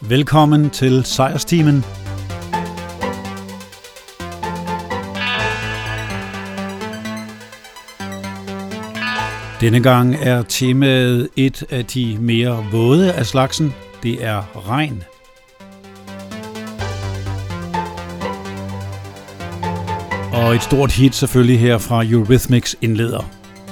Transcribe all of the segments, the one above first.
Velkommen til Sejrstimen. Denne gang er temaet et af de mere våde af slagsen. Det er regn. Og et stort hit selvfølgelig her fra Eurythmics indleder.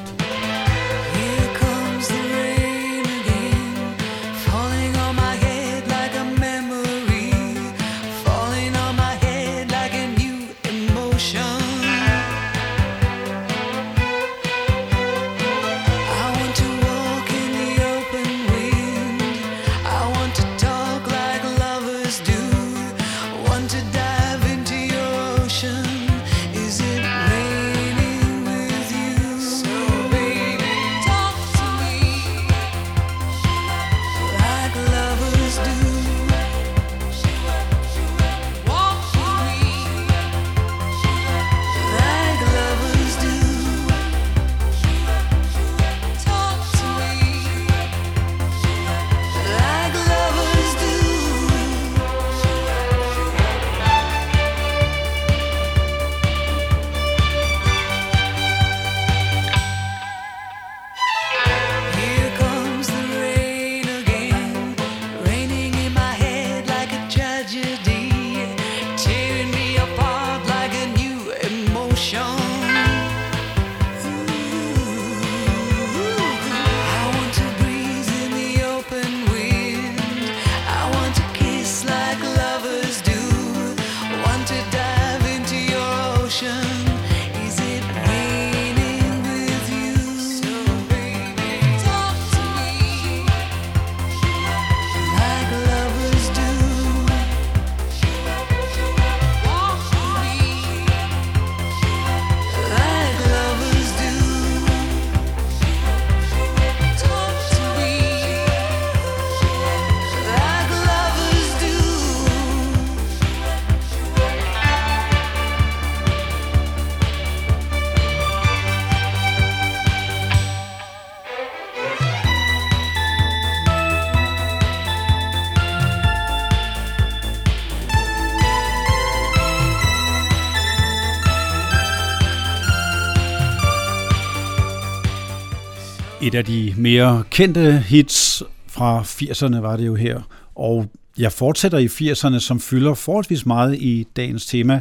Et af de mere kendte hits fra 80'erne var det jo her, og jeg fortsætter i 80'erne, som fylder forholdsvis meget i dagens tema.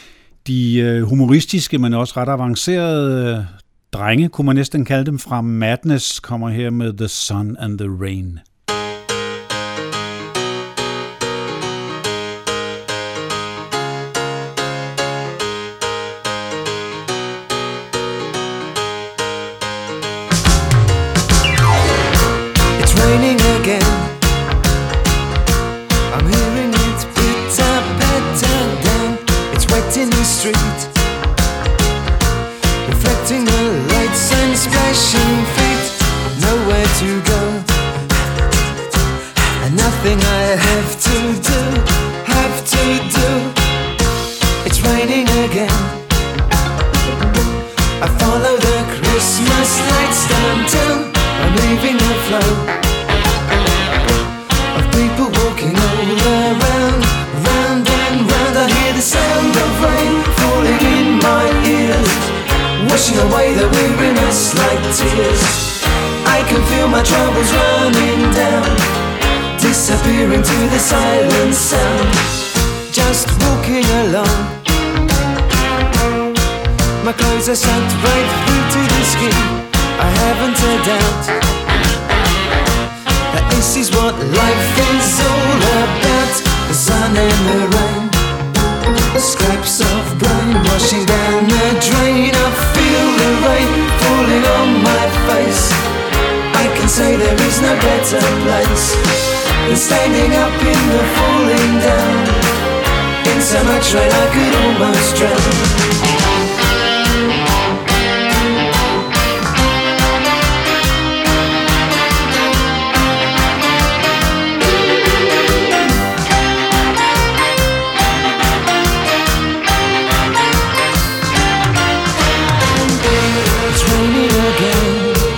De humoristiske, men også ret avancerede drenge, kunne man næsten kalde dem, fra Madness, kommer her med The Sun and the Rain.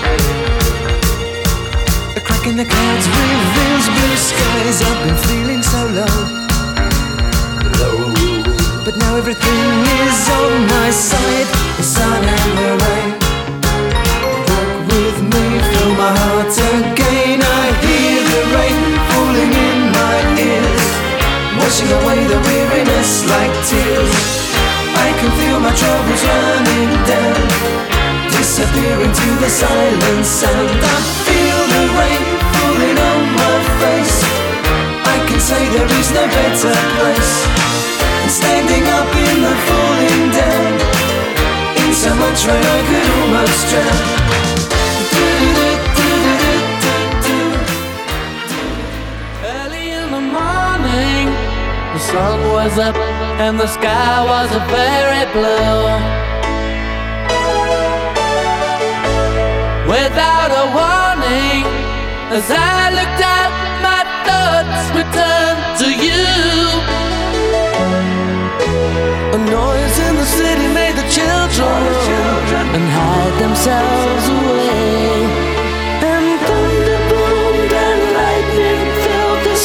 The clouds reveals blue skies. I've been feeling so everything is on my side. The sun and the rain, walk with me, fill my heart again. I hear the rain falling in my ears, washing away the weariness like tears. I can feel my troubles running down, disappearing to the silent sound. I feel the rain falling on my face. I can say there is no better place than standing up in the falling down. In so much rain I could almost drown. Early in the morning, the sun was up and the sky was a very blue. Without a warning, as I looked out, my thoughts returned to you. A noise in the city made the children and hide themselves away. And thunder boomed and lightning filled the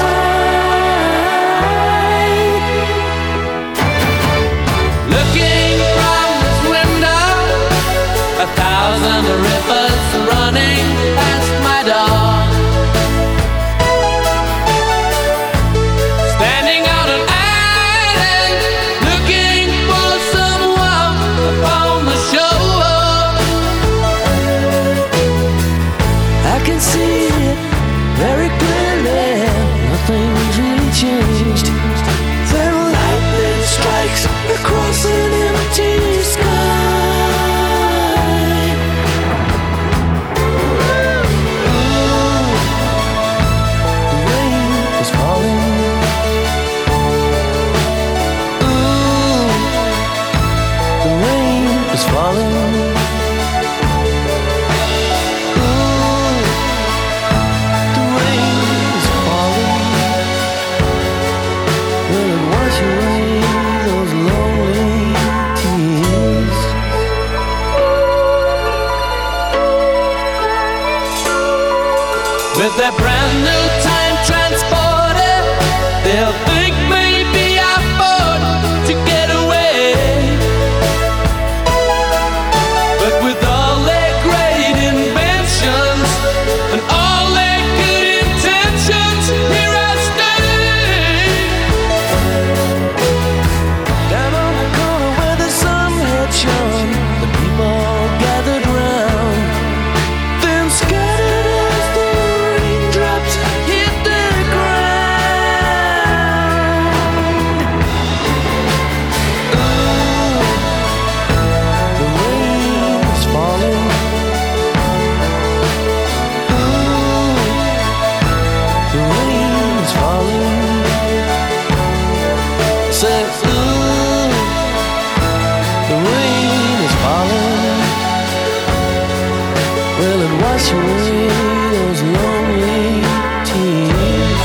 sky. Looking from this window, 1,000 rivers running past my door. Standing on an island, looking for someone upon the shore. I can see it very clearly, nothing's really changed. Then lightning strikes across an empty sky. With that brand new time transporter, they'll think maybe I fought to get away. But with all their great inventions and all their good intentions, here I stay. Down on the corner where the sun had shone, the people gathered round, then scattered as the raindrops hit the ground. Ooh, the rain is falling. Ooh, the rain is falling. Say, ooh, the rain is falling. Will it wash away those lonely tears?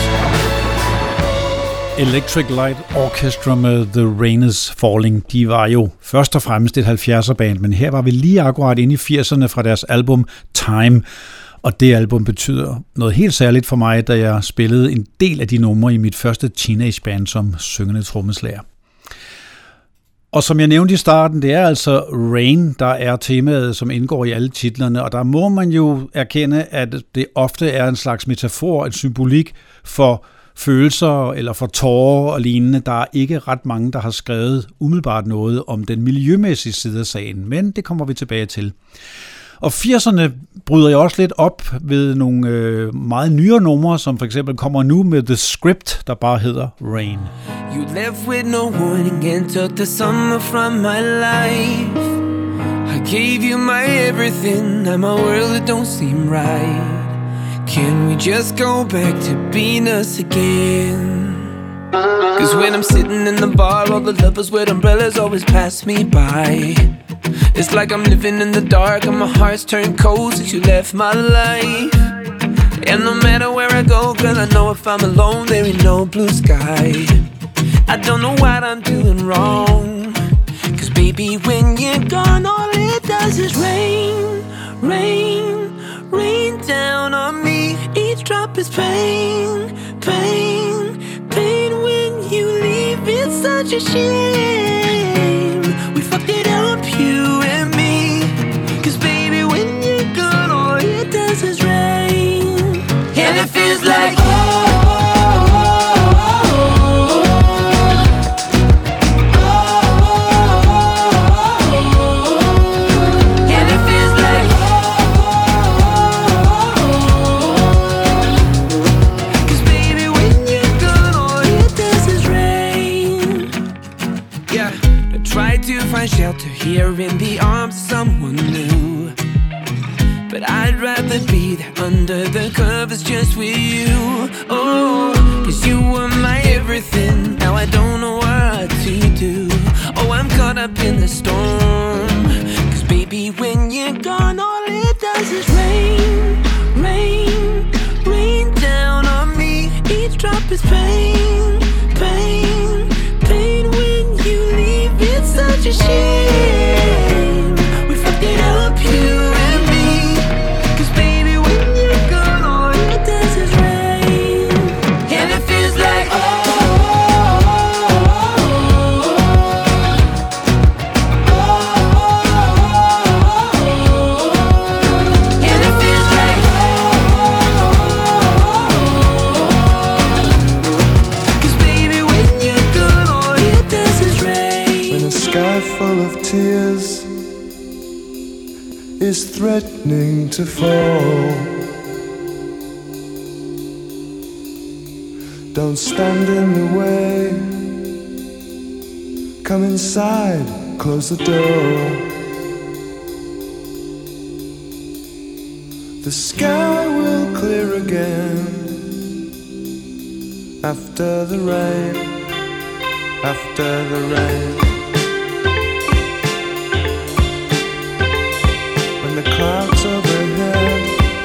Electric Light Orchestra med The Rain is Falling, de var jo først og fremmest et 70'er-band, men her var vi lige akkurat inde i 80'erne fra deres album Time, og det album betyder noget helt særligt for mig, da jeg spillede en del af de numre i mit første teenageband som syngende trommeslager. Og som jeg nævnte i starten, det er altså Rain, der er temaet, som indgår i alle titlerne, og der må man jo erkende, at det ofte er en slags metafor, en symbolik for følelser eller for tårer og lignende. Der er ikke ret mange, der har skrevet umiddelbart noget om den miljømæssige side af sagen, men det kommer vi tilbage til. Og 80'erne bryder jeg også lidt op ved nogle meget nyere numre, som for eksempel kommer nu med The Script, der bare hedder Rain. You left with no warning and took the summer from my life. I gave you my everything, now my world it don't seem right. Can we just go back to being us again? Cause when I'm sitting in the bar, all the lovers with umbrellas always pass me by. It's like I'm living in the dark and my heart's turned cold since you left my life. And no matter where I go, girl, I know if I'm alone, there ain't no blue sky. I don't know what I'm doing wrong, cause baby, when you're gone, all it does is rain, rain, rain down on me. Each drop is pain, pain, pain. When you leave, it's such a shame. We fucked it up, you and me. 'Cause baby, when you're gone, all it does is rain. And it feels like shelter here in the arms of someone new, but I'd rather be there under the covers just with you. Oh, 'cause you were my everything. Now I don't know what to do. Oh, I'm caught up in the storm. 'Cause baby, when you're gone, all it does is rain, rain, rain down on me. Each drop is pain, pain, pain. When you leave, it's such a shame. We fucked it up, you and me. 'Cause baby, when you're gone, all it does is rain. And it feels like and it feels like 'cause baby, when you're gone, all it does is rain. When a sky full of tears is threatening to fall, don't stand in the way. Come inside, close the door. The sky will clear again after the rain, after the rain. The clouds overhead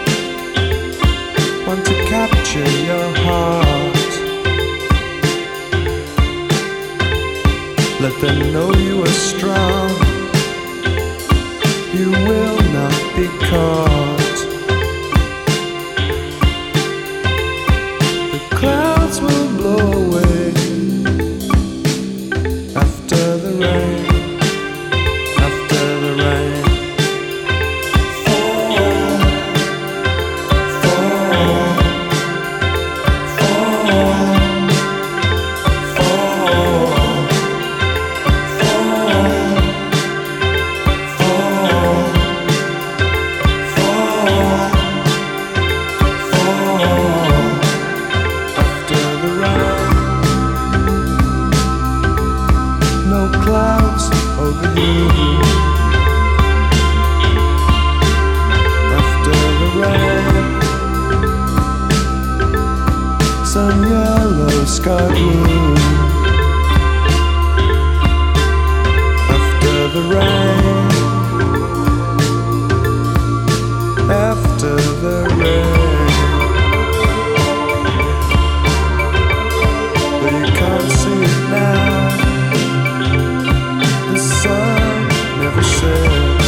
want to capture your heart. Let them know you are strong. You will not be caught. The clouds will blow away after the rain, after the rain. Some yellow sky blue after the rain, after the rain. But you can't see it now. The sun never sets.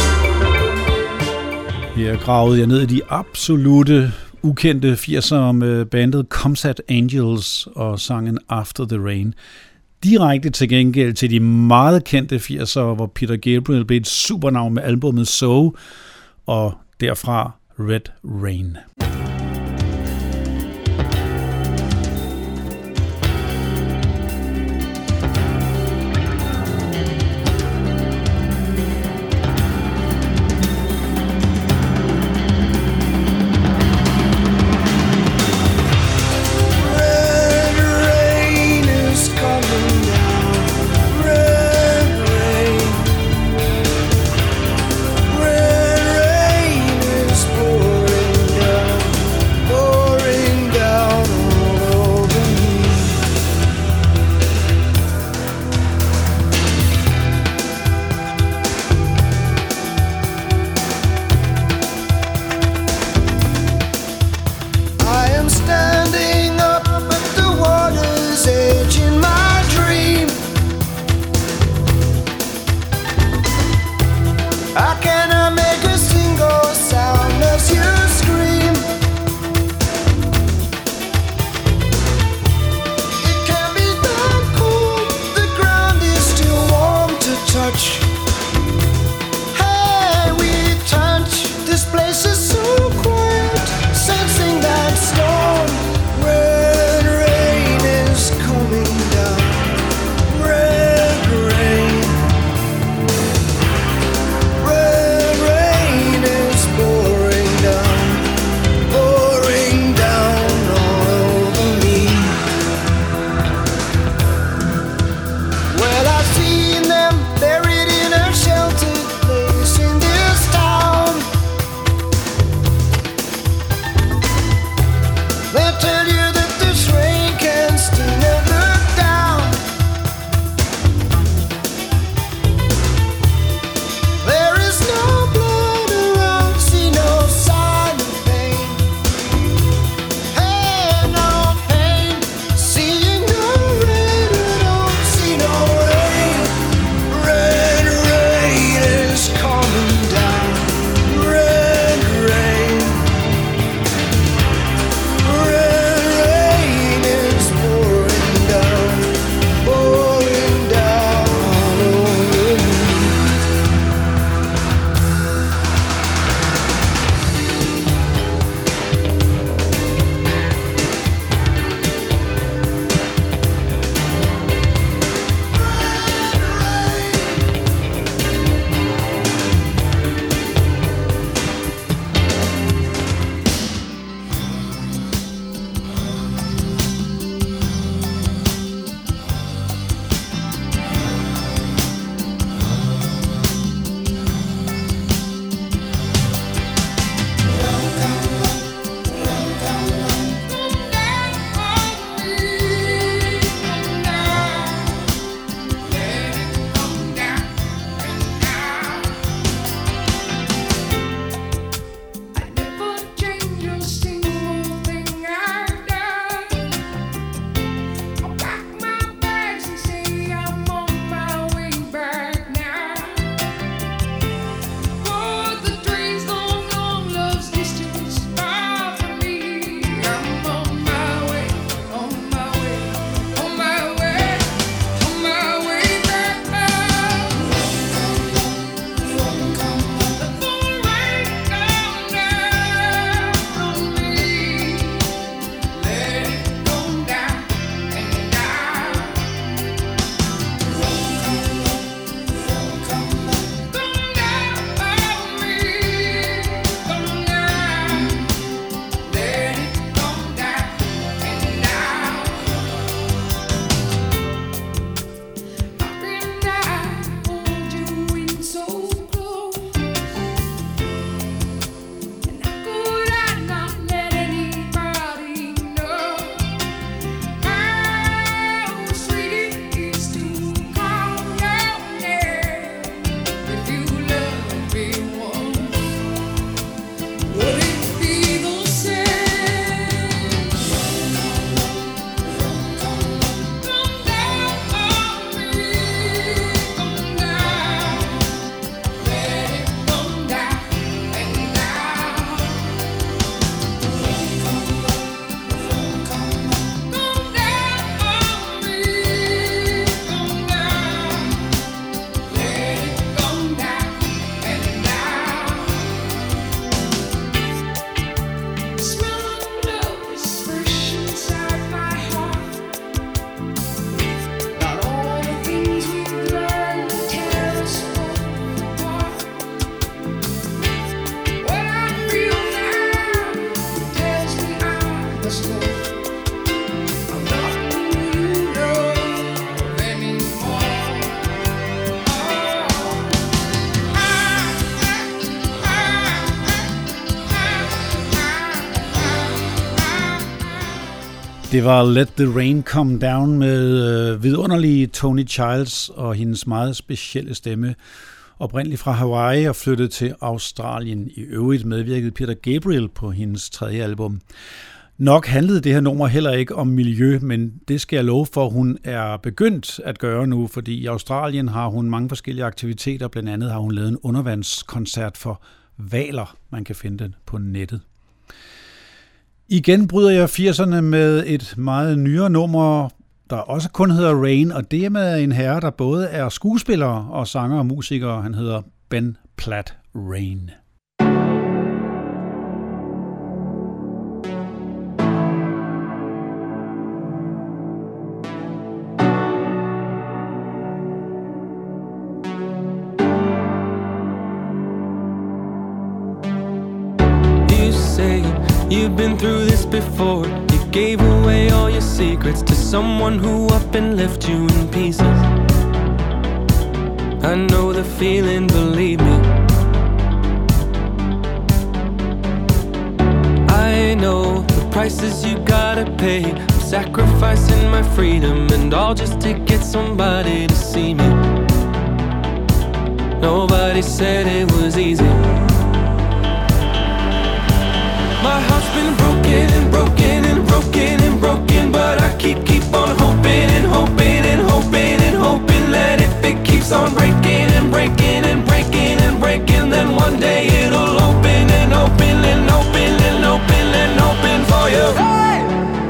Her gravede jeg ned i de absolute ukendte 80'ere med bandet Comsat Angels og sangen After the Rain. Direkte til gengæld til de meget kendte 80'ere, hvor Peter Gabriel blev et supernavn med albumet So, og derfra Red Rain. The touch. Hey, we touch. This place is so quiet, sensing that storm. Red rain is coming down. Red rain. Red rain is pouring down all over me. Well, I've seen them buried in a sheltered place in this town. They'll tell you that this rain can still never down. There is no blood around, see no sign of pain. Hey, no pain, seeing no rain, I don't see no rain. Red rain is coming down. Red rain. Red rain is pouring down all over me. Det var Let the Rain Come Down med vidunderlige Tony Childs og hendes meget specielle stemme. Oprindeligt fra Hawaii og flyttet til Australien. I øvrigt medvirkede Peter Gabriel på hendes tredje album. Nok handlede det her nummer heller ikke om miljø, men det skal jeg love for, hun er begyndt at gøre nu, fordi i Australien har hun mange forskellige aktiviteter. Blandt andet har hun lavet en undervandskoncert for hvaler. Man kan finde den på nettet. Igen bryder jeg 80'erne med et meget nyere nummer. der også kun hedder Rain, og det er med en herre, der både er skuespiller og sanger og musiker. Han hedder Ben Platt Rain. You've been through this before. You gave away all your secrets to someone who up and left you in pieces. I know the feeling, believe me. I know the prices you gotta pay. I'm sacrificing my freedom and all just to get somebody to see me. Nobody said it was easy. My heart's been broken and broken and broken and broken, but I keep on hoping and hoping and hoping and hoping that if it keeps on breaking and breaking and breaking and breaking, then one day it'll open and open and open and open and open for you. Hey,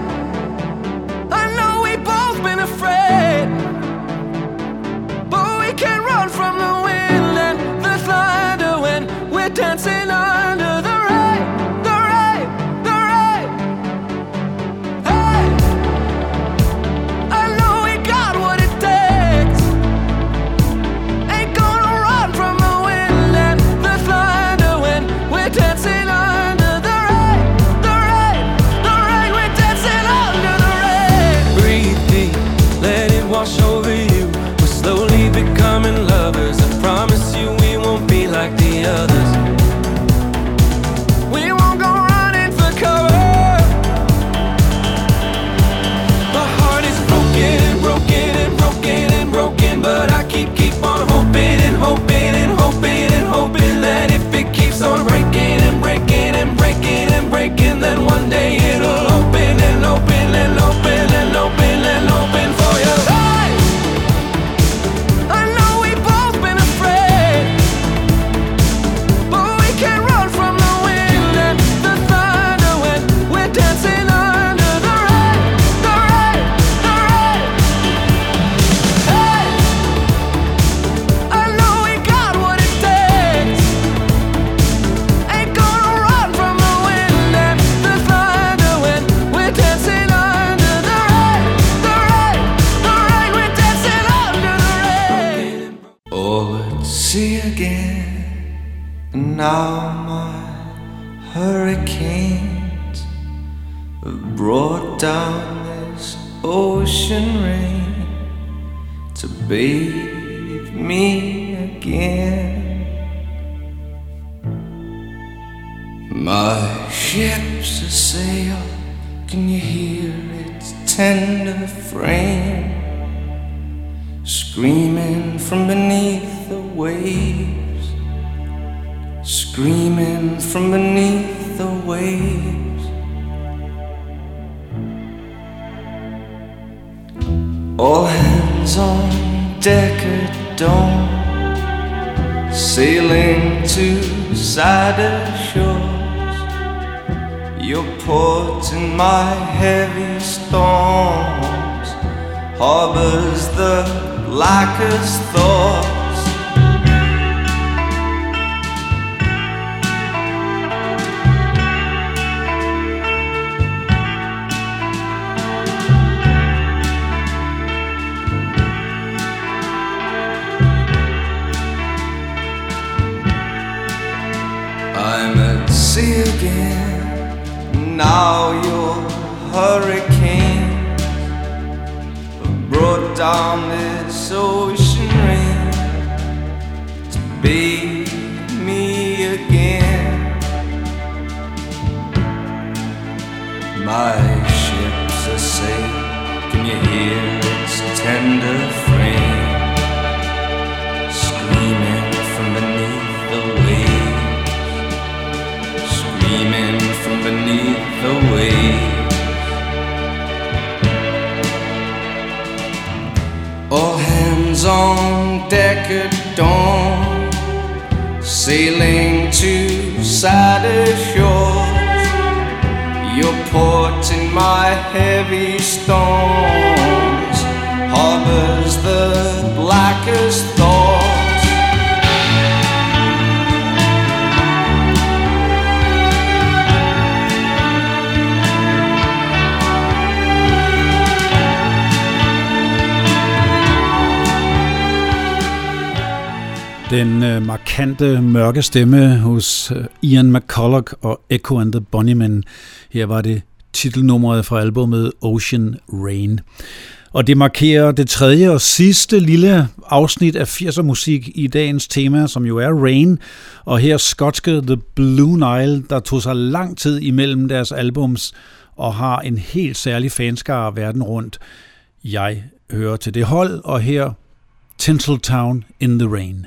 I know we've both been afraid, but we can't run from the wind and the thunder when we're dancing under the lovers. I promise you we won't be like the others. We won't go running for cover. My heart is broken and broken and broken and broken, but I keep on hoping and hoping and hoping and hoping that if it keeps on breaking and breaking and breaking and breaking, then one day it'll open and open and open and open and open for you. Now my hurricanes have brought down this ocean rain to bathe me again. My ship's a sail, can you hear its tender frame screaming from beneath the waves? Screaming from beneath the waves. All hands on deck at dawn, sailing to sadder shores. Your port in my heavy storms harbors the blackest thoughts. Again, now your hurricanes have brought down this ocean rain to bathe me again. My ship's a sail, can you hear its tender frame screaming from beneath the waves? Screaming from beneath the waves. All hands on deck at dawn, sailing to sadder shores. Your port in my heavy storms as the blackest thought. Den markante mørke stemme hos Ian McCulloch og Echo and the Bunnymen. Her var det titelnummeret fra albumet Ocean Rain. Og det markerer det tredje og sidste lille afsnit af 80'er musik i dagens tema, som jo er Rain. Og her skotske The Blue Nile, der tog sig lang tid imellem deres albums og har en helt særlig fanskare verden rundt. Jeg hører til det hold, og her Tinseltown in the Rain.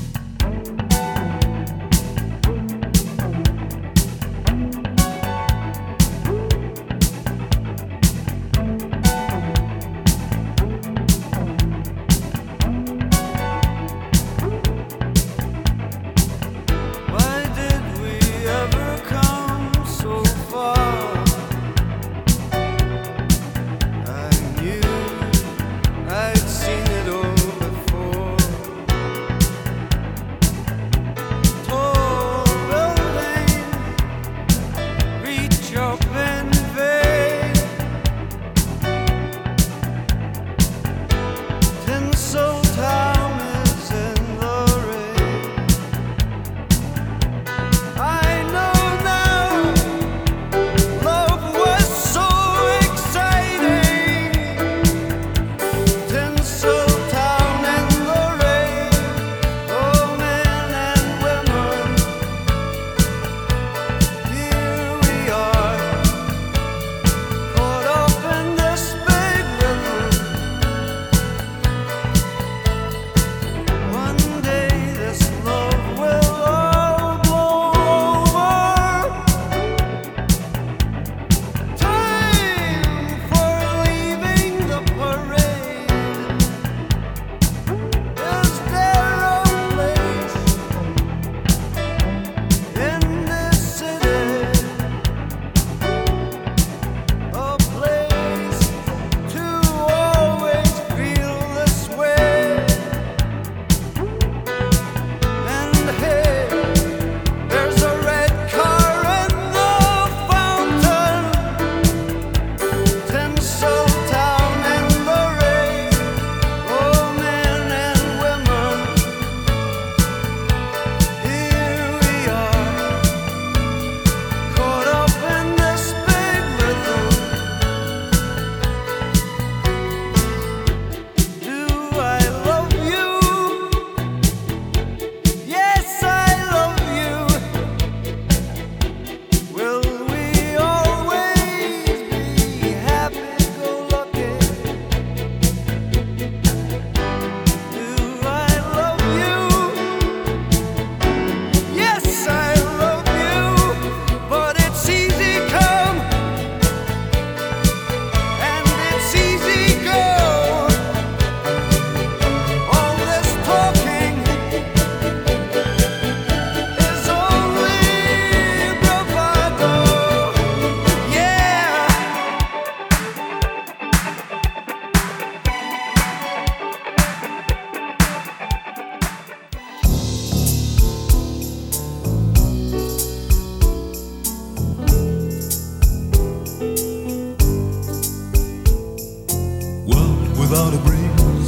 without a breeze,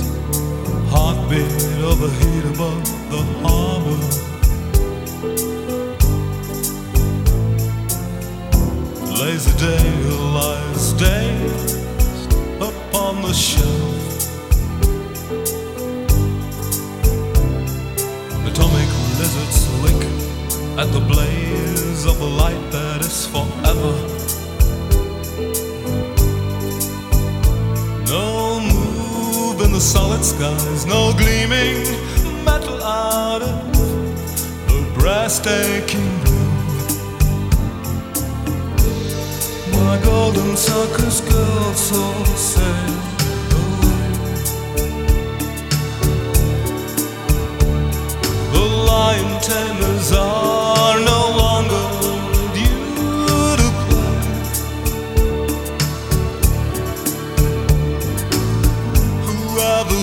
heartbeat of a heat above the harbor. Lazy day lies dazed upon the shelf. Atomic lizards lick at the blaze of the light that is forever. No move in the solid skies, no gleaming metal out of the breathtaking blue. My golden circus girl soul sailed away. The lion tamers are no longer due to play. Whoever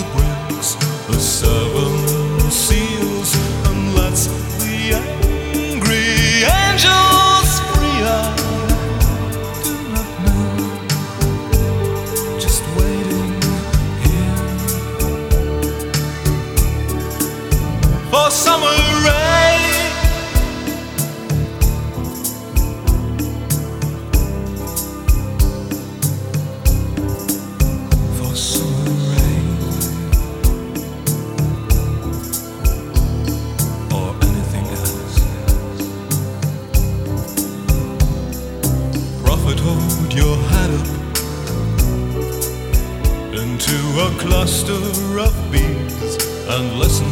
rain. For summer rain or anything else. Prophet, hold your head up into a cluster of bees and listen.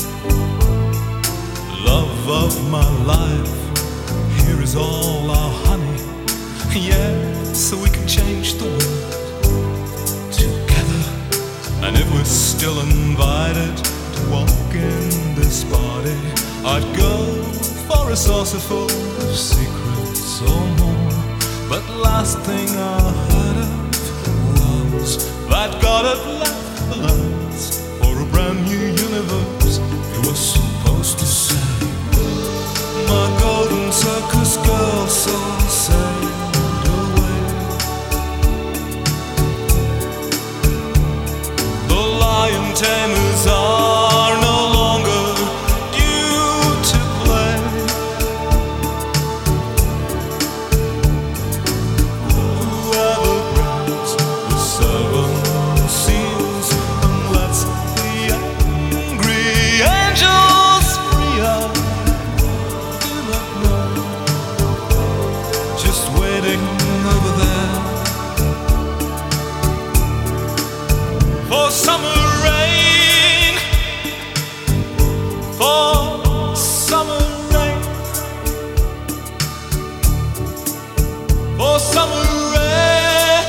Love of my life, here is all our honey. Yeah, so we can change the world together. And if we're still invited to walk in this party, I'd go for a saucerful of secrets or more. But last thing I heard of was that God had left the lands for a brand new universe. He was supposed to say, my golden circus girl saw sailed away. The lion tamers are no longer due to play. Whoever grabs the 7 seals and lets the angry angels free, I do not know. Just waiting over there for summer rain, for summer rain, for summer rain,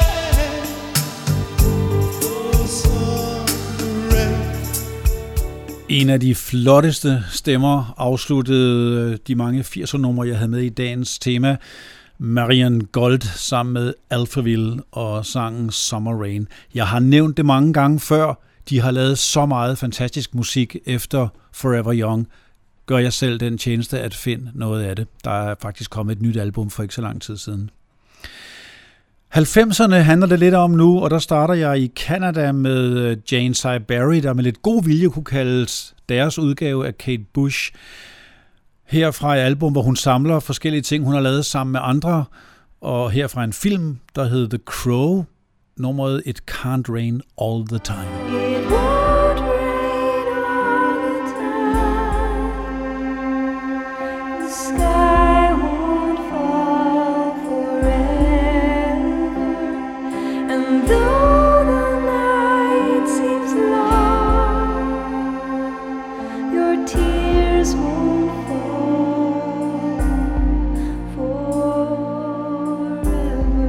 for summer rain. En af de flotteste stemmer afsluttede de mange 80'er-numre, jeg havde med i dagens tema. Marian Gold sammen med Alphaville og sangen Summer Rain. Jeg har nævnt det mange gange før. De har lavet så meget fantastisk musik efter Forever Young. Gør jeg selv den tjeneste at finde noget af det. Der er faktisk kommet et nyt album for ikke så lang tid siden. 90'erne handler det lidt om nu, og der starter jeg i Canada med Jane Siberry, der med lidt god vilje kunne kaldes deres udgave af Kate Bush. Herfra et album, hvor hun samler forskellige ting, hun har lavet sammen med andre, og herfra en film, der hed The Crow, nummeret It Can't Rain All the Time. It won't rain all the time. The sky won't fall forever. And though the night seems long, your tears won't fall forever.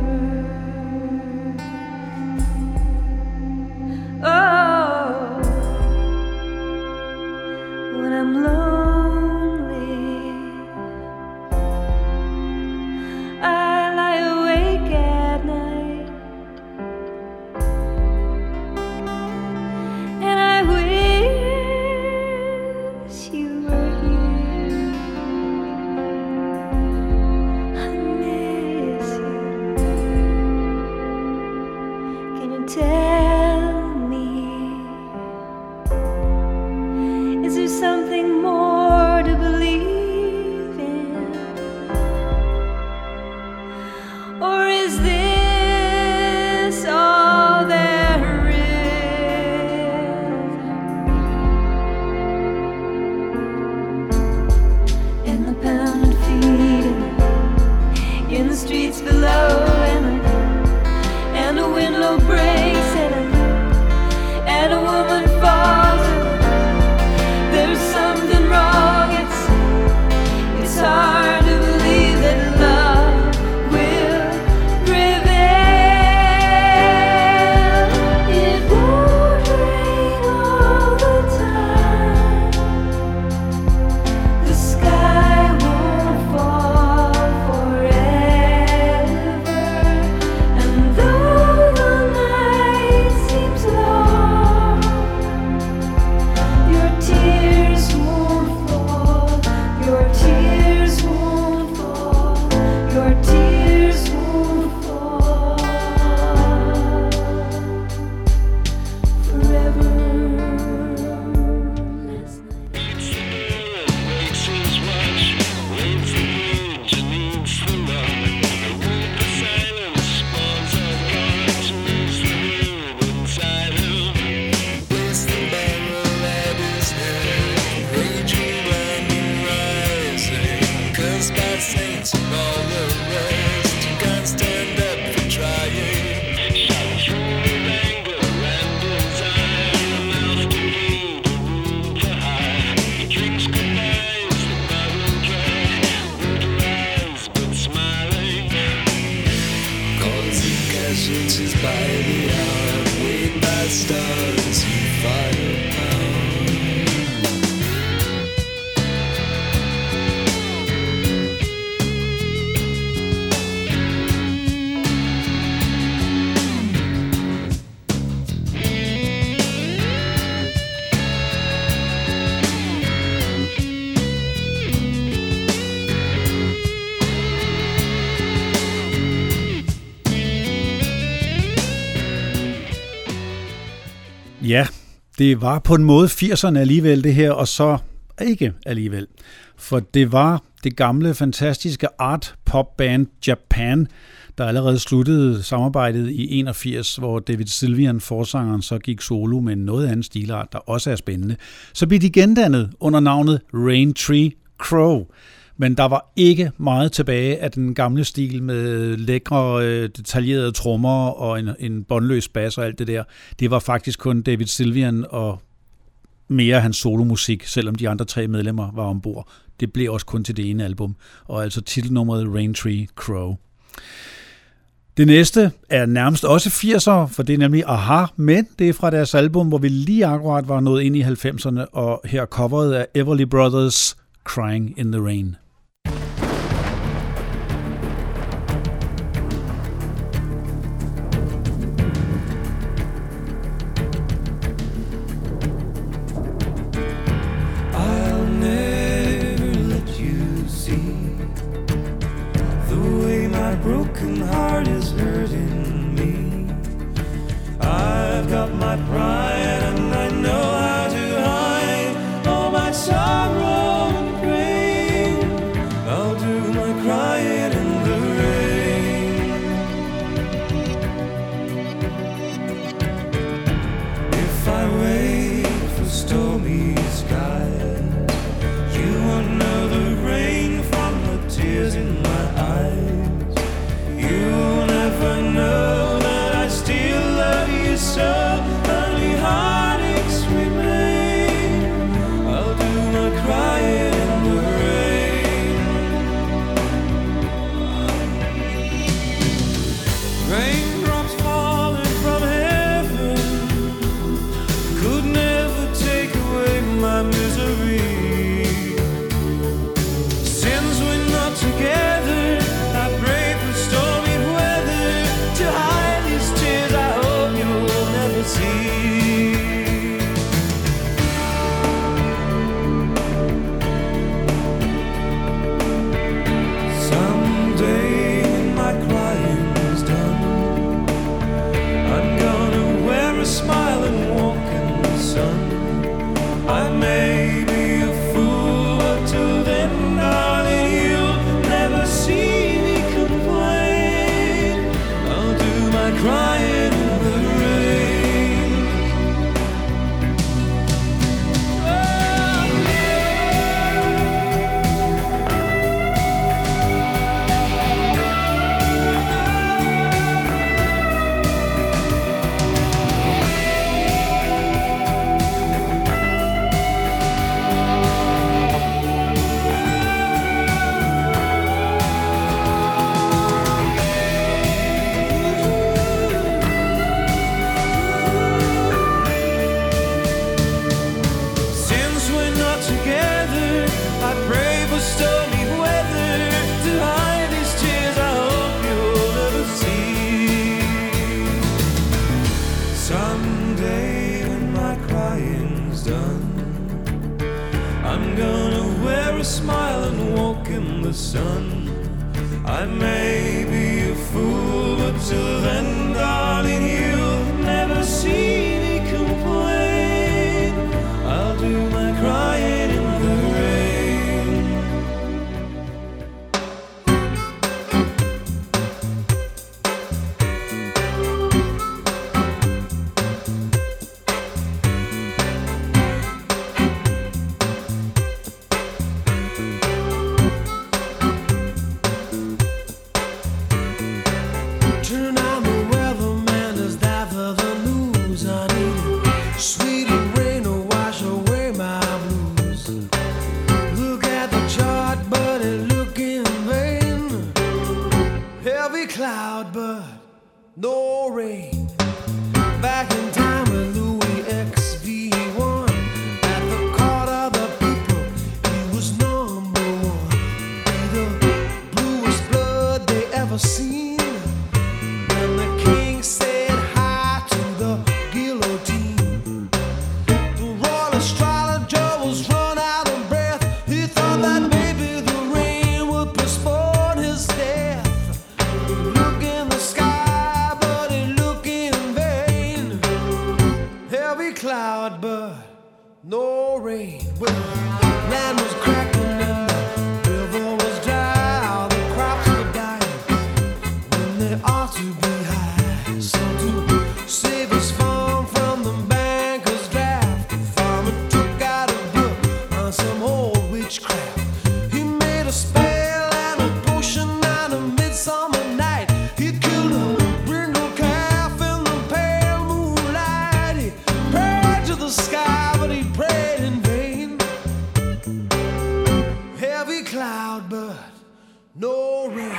Oh, when I'm lonely, I lie awake at night, and I wish you were here. I miss you. Can you tell me, is there something more to believe in? Or is this all there is? In the pounded feet, in the streets below, and a window breaks, and a woman falls. There's something wrong. It's hard to believe that love will prevail. It won't rain all the time. The sky won't fall forever. And though the night Det var på en måde 80'erne alligevel det her, og så ikke alligevel. For det var det gamle, fantastiske art-pop-band Japan, der allerede sluttede samarbejdet i 81, hvor David Sylvian, forsangeren, så gik solo med en noget anden stilart, der også er spændende. Så blev de gendannet under navnet Raintree Crow. Men der var ikke meget tilbage af den gamle stil med lækre, detaljerede trommer og en båndløs bas og alt det der. Det var faktisk kun David Sylvian og mere hans solomusik, selvom de andre 3 medlemmer var ombord. Det blev også kun til det ene album, og altså titelnummeret Raintree Crow. Det næste er nærmest også 80'er, for det er nemlig Aha, men det er fra deres album, hvor vi lige akkurat var nået ind i 90'erne, og her coveret af Everly Brothers, Crying in the Rain. Broken heart is hurting me. I've got my pride and I know how to hide all my sorrow and pain. I'll do my crying in the rain. If I wait for stormy skies, you won't know the rain from the tears in my eyes. You'll never know that I still love you so. Only heartaches remain. I'll do my crying in the rain. Raindrops falling from heaven could never take away my misery. Since we're not together, I pray for stormy weather to hide these tears I hope you'll never see. Someday when my crying's done, I'm gonna wear a smile and walk in the sun. I may be a fool, but till then, darling, you'll never see me complain. I'll do my crying in the rain. Since we're not together, I pray for stormy weather to hide these tears I hope you'll never see. Someday when my crying's done, I'm gonna wear a smile and walk in the sun. I may be a fool, but till then, darling, you'll never see me complain. I'll do my crying in the rain. Turn on the weatherman is there for the news. I need sweet rain to wash away my blues. Look at the chart, buddy, look in vain. Heavy cloud, but no rain. Back in time with Louis XV1. At the court of the people, he was number one. Be the bluest blood they ever seen. When the king said hi to the guillotine, the royal astrologer was run out of breath. He thought that maybe the rain would postpone his death. Look in the sky, but he look in vain. Heavy cloud, but spell and a potion and a midsummer night. He killed a brindle calf in the pale moonlight. He prayed to the sky, but he prayed in vain. Heavy cloud, but no rain.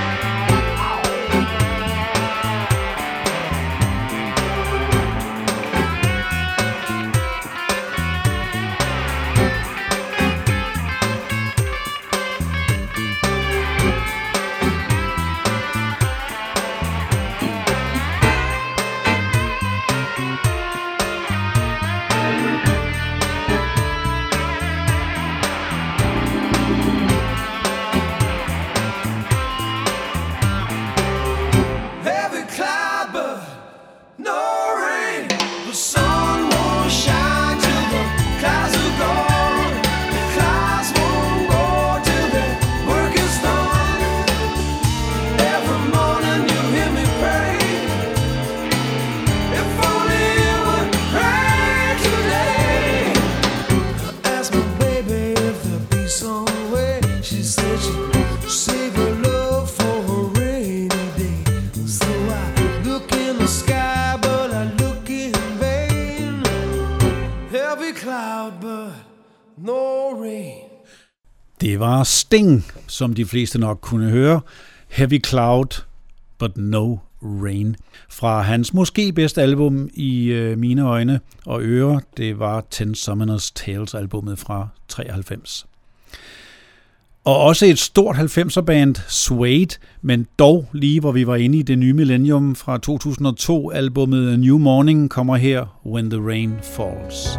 Det var Sting, som de fleste nok kunne høre. Heavy Cloud, but no rain. Fra hans måske bedste album i mine øjne og ører, det var Ten Summoners Tales albumet fra 93. Og også et stort 90'er band, Suede, men dog lige hvor vi var inde i det nye millennium fra 2002, albumet A New Morning kommer her, When the Rain Falls.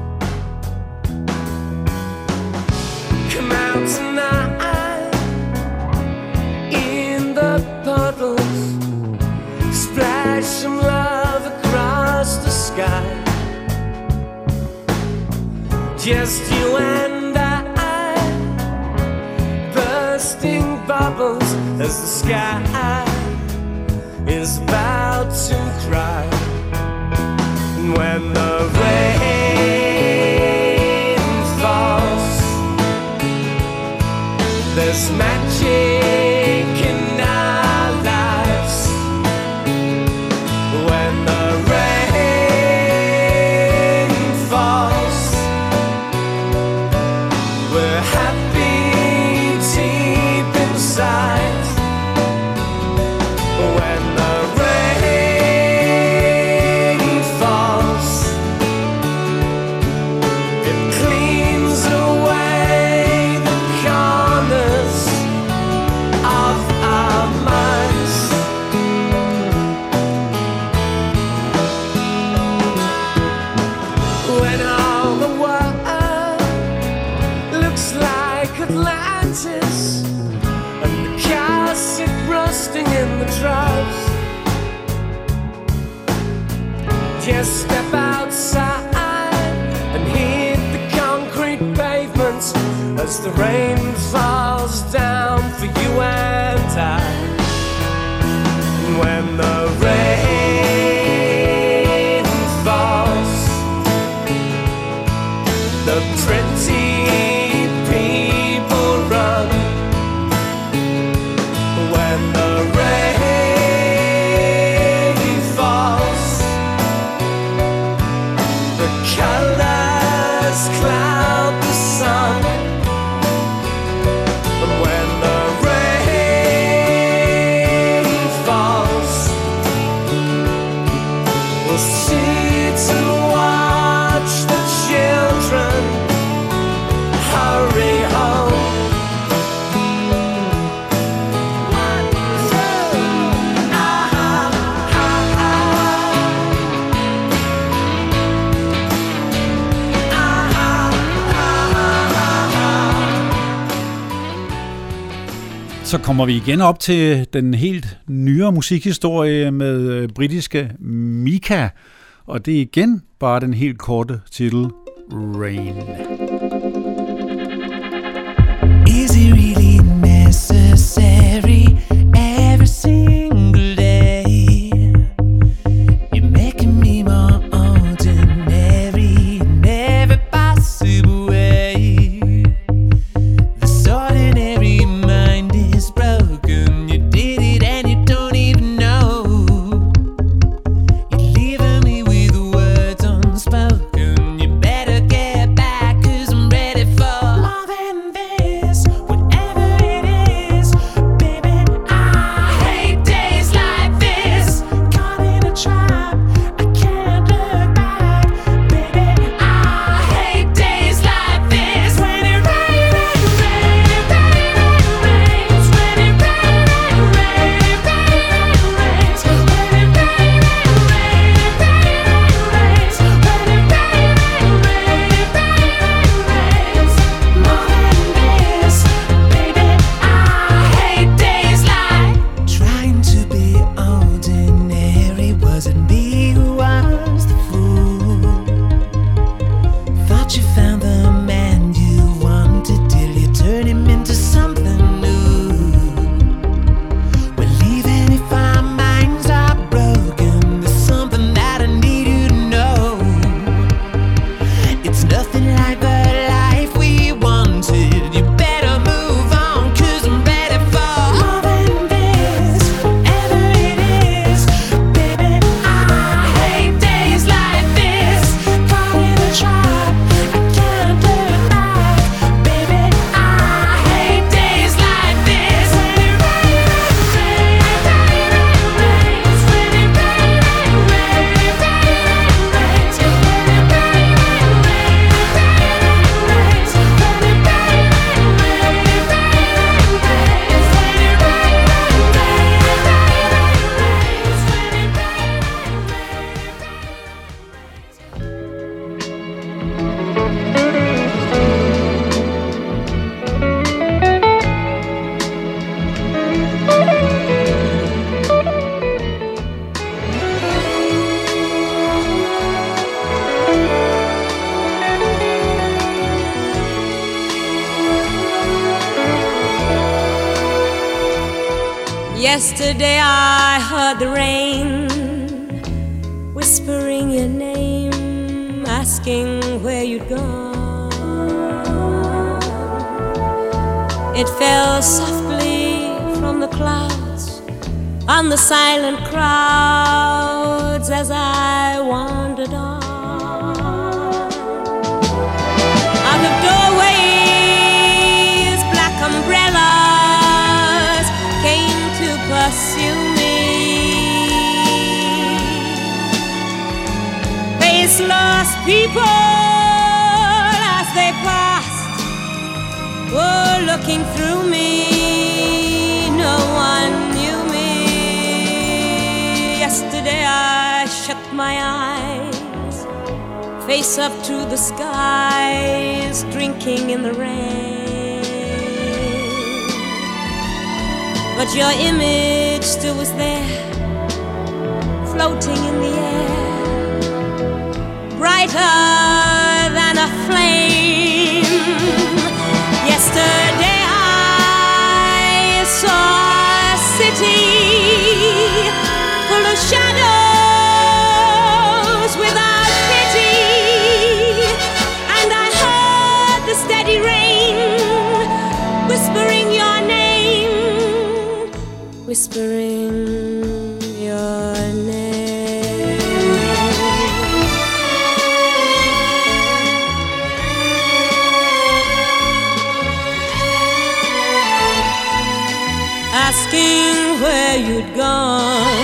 Come out tonight in the puddles, splash some love across the sky. Just you and I, bursting bubbles as the sky is about to cry. And when the rain falls, there's magic in our lives. When the rain falls, we're happy deep inside. When the rain falls, it cleans away the corners of our minds. When all the world looks like Atlantis, and the cars sit rusting in the troughs, just step outside and hit the concrete pavements as the rain falls down for you and I. When the rain falls, the pretty people run. When the rain falls, the colors cloud the sun. And when the rain falls, we'll sit and watch the children hurry home. One, two, Så kommer vi igen op til den helt nyere musikhistorie med britiske Mika, og det er igen bare den helt korte titel, Rain. Is it really necessary every single day? You're making me more ordinary in every possible way. This ordinary Yesterday I heard the rain whispering your name, asking where you'd gone. It fell softly from the clouds on the silent crowds as I wandered on. Out of doorways, black umbrellas came to pursue me. Faceless people as they passed were looking through me. No one knew me. Yesterday I shut my eyes, face up to the skies, drinking in the rain. But your image still was there, floating in the air, brighter than a flame. Yesterday I saw a city full of shadows without pity, and I heard the steady rain whispering your name, whispering your name. Asking where you'd gone.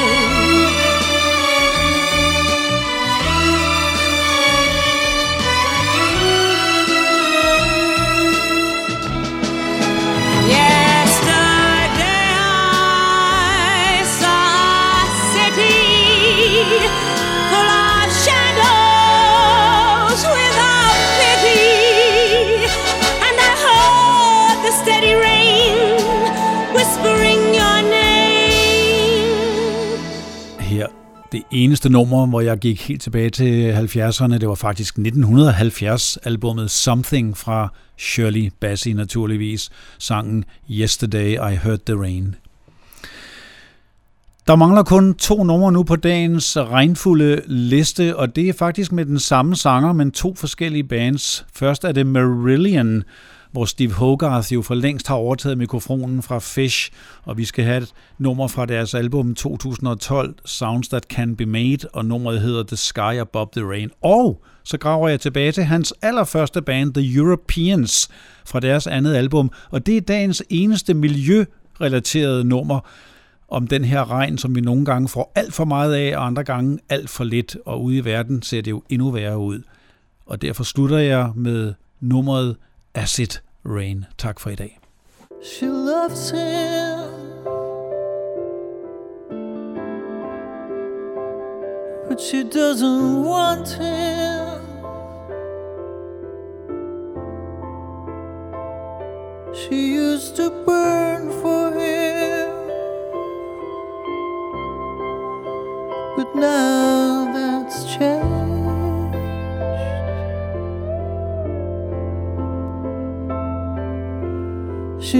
Yesterday I saw a city full of shadows without pity, and I heard the steady rain whispering your name. Her det eneste nummer, hvor jeg gik helt tilbage til 70'erne, det var faktisk 1970-albummet Something fra Shirley Bassey naturligvis, sangen Yesterday I Heard the Rain. Der mangler kun 2 numre nu på dagens regnfulde liste, og det er faktisk med den samme sanger, men 2 forskellige bands. Først er det Marillion, hvor Steve Hogarth jo for længst har overtaget mikrofonen fra Fish, og vi skal have et nummer fra deres album 2012, Sounds That Can Be Made, og nummeret hedder The Sky Above the Rain. Og så graver jeg tilbage til hans allerførste band, The Europeans, fra deres andet album, og det er dagens eneste miljørelaterede nummer om den her regn, som vi nogle gange får alt for meget af, og andre gange alt for lidt, og ude i verden ser det jo endnu værre ud. Og derfor slutter jeg med nummeret Acid Rain. Tak for i dag. She loves him, but she doesn't want him. She used to burn for him, but now that's changed. She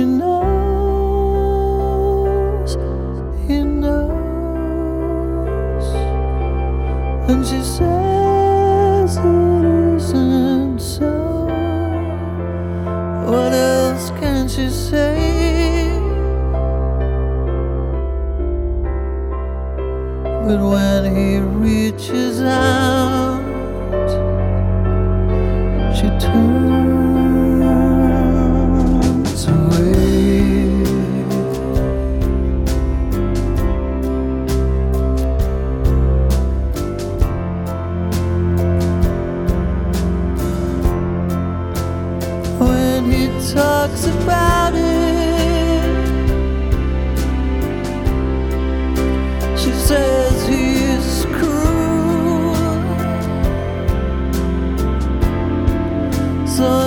knows, he knows, and she says it isn't so. What else can she say? But when he reaches out, she turns away. When he talks about it, she says he's cruel. So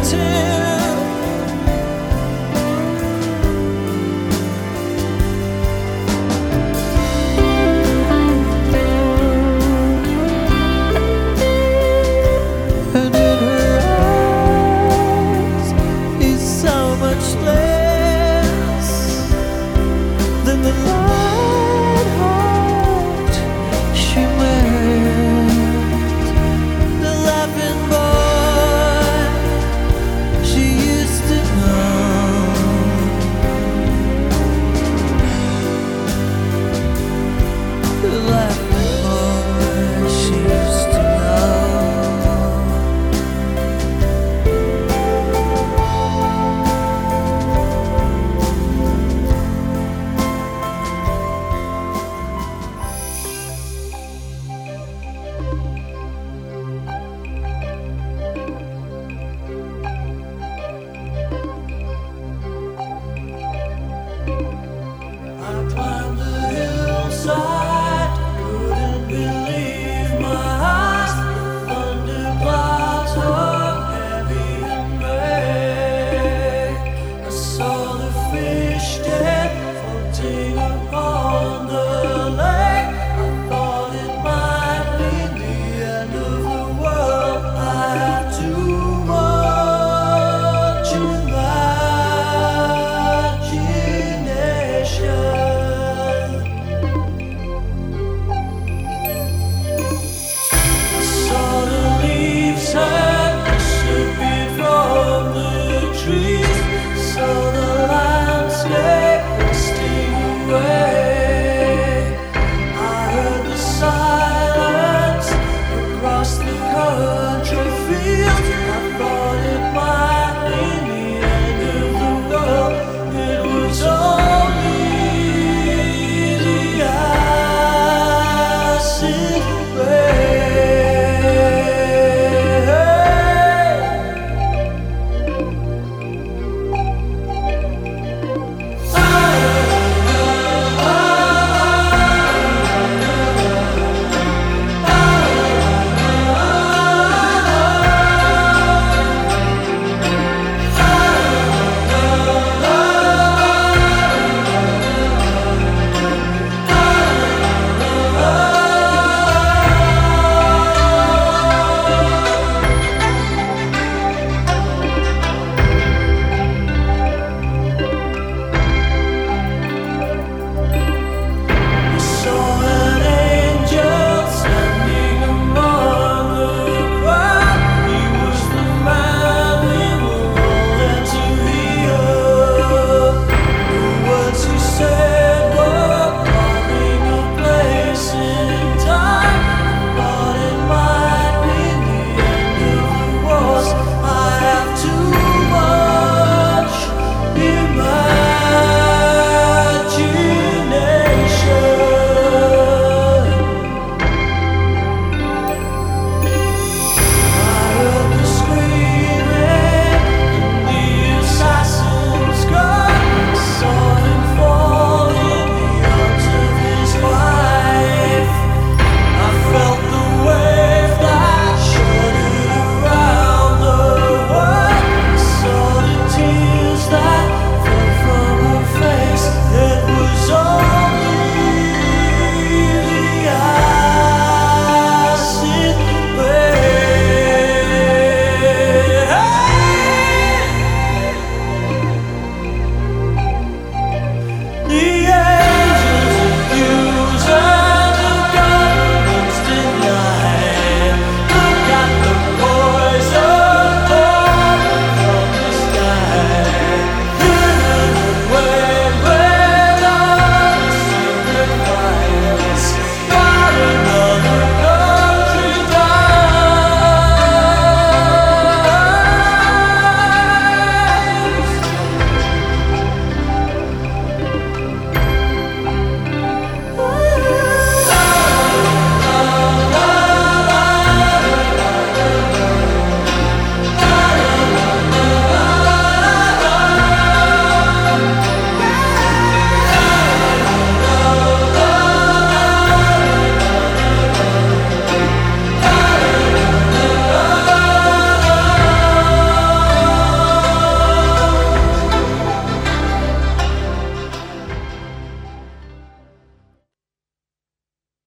tear